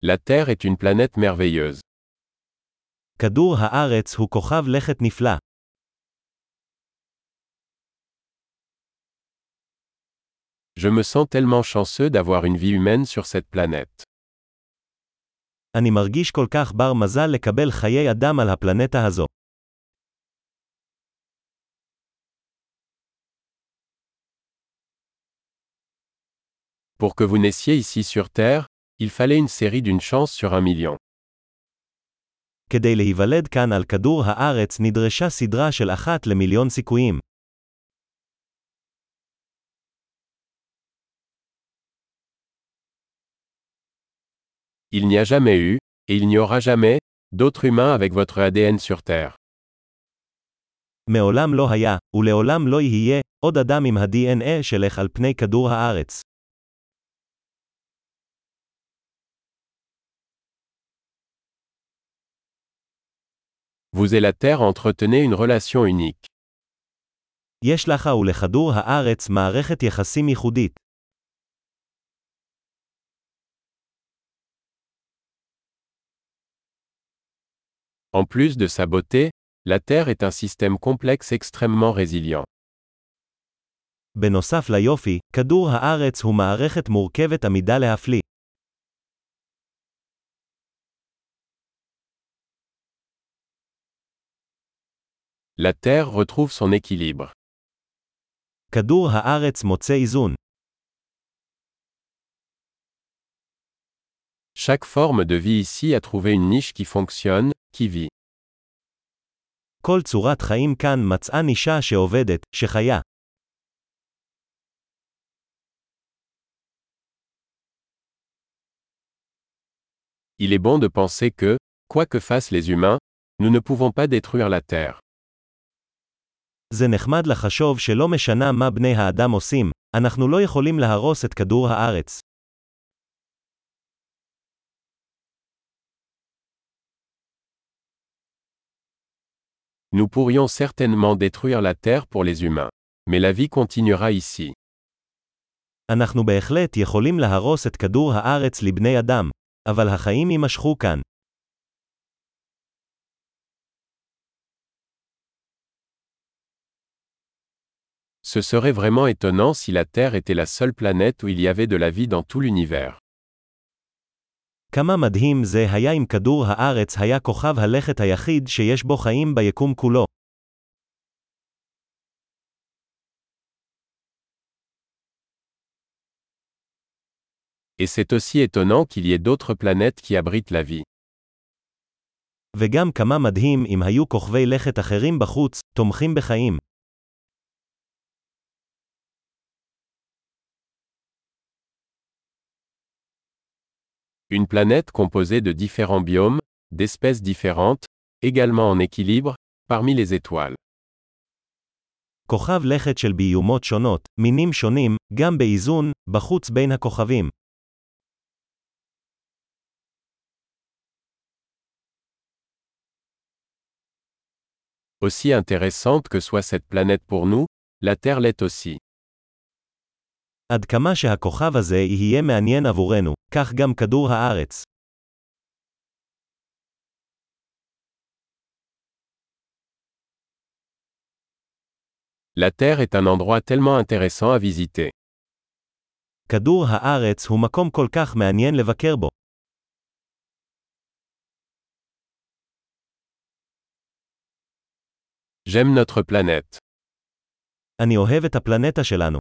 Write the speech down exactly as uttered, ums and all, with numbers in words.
La Terre est une planète merveilleuse. כדור הארץ הוא כוכב לכת נפלא. Je me sens tellement chanceux d'avoir une vie humaine sur cette planète. אני מרגיש כל כך בר מזל לקבל חיי אדם על הפלנטה הזו. Pour que vous naissiez ici sur Terre, il fallait une série d'une chance sur un million. כדי להיוולד כאן על כדור הארץ נדרשה סדרה של אחת למיליון סיכויים. Il n'y a jamais eu, et il n'y aura jamais, d'autres humains avec votre A D N sur Terre. מעולם לא היה, ולעולם לא יהיה, עוד אדם עם ה-די אן איי שלך על פני כדור הארץ. Vous et la Terre entretenez une relation unique. יש לך ולכדור הארץ מערכת יחסים ייחודית. En plus de sa beauté, la Terre est un système complexe extrêmement résilient. בנוסף ליופי, כדור הארץ הוא מערכת מורכבת עמידה להפליא. La Terre retrouve son équilibre. כדור הארץ מוצא איזון. Chaque forme de vie ici a trouvé une niche qui fonctionne, qui vit. כל צורת חיים כאן מצאה נישה שעובדת, שחיה. Il est bon de penser que, quoi que fassent les humains, nous ne pouvons pas détruire la Terre. זה נחמד לחשוב שלא משנה מה בני האדם עושים, אנחנו לא יכולים להרוס את כדור הארץ. Nous pourrions certainement détruire la Terre pour les humains. Mais la vie continuera ici. אנחנו בהחלט יכולים להרוס את כדור הארץ לבני אדם, אבל החיים יימשכו כאן. Ce serait vraiment étonnant si la Terre était la seule planète où il y avait de la vie dans tout l'univers. כמה מדהים זה היה אם כדור הארץ היה כוכב הלכת היחיד שיש בו חיים ביקום כולו. Et c'est aussi étonnant qu'il y ait d'autres planètes qui abritent la vie. וגם כמה מדהים אם היו כוכבי לכת אחרים בחוץ, תומכים בחיים. Une planète composée de différents biomes, d'espèces différentes, également en équilibre, parmi les étoiles. כוכב לכת של ביומות שונות, מינים שונים, גם באיזון, בחוץ בין הכוכבים. Aussi intéressante que soit cette planète pour nous, la Terre l'est aussi. עד כמה שהכוכב הזה יהיה מעניין עבורנו, כך גם כדור הארץ. La Terre est un endroit tellement intéressant à visiter. כדור הארץ הוא מקום כל כך מעניין לבקר בו. J'aime notre planète. אני אוהב את הפלנטה שלנו.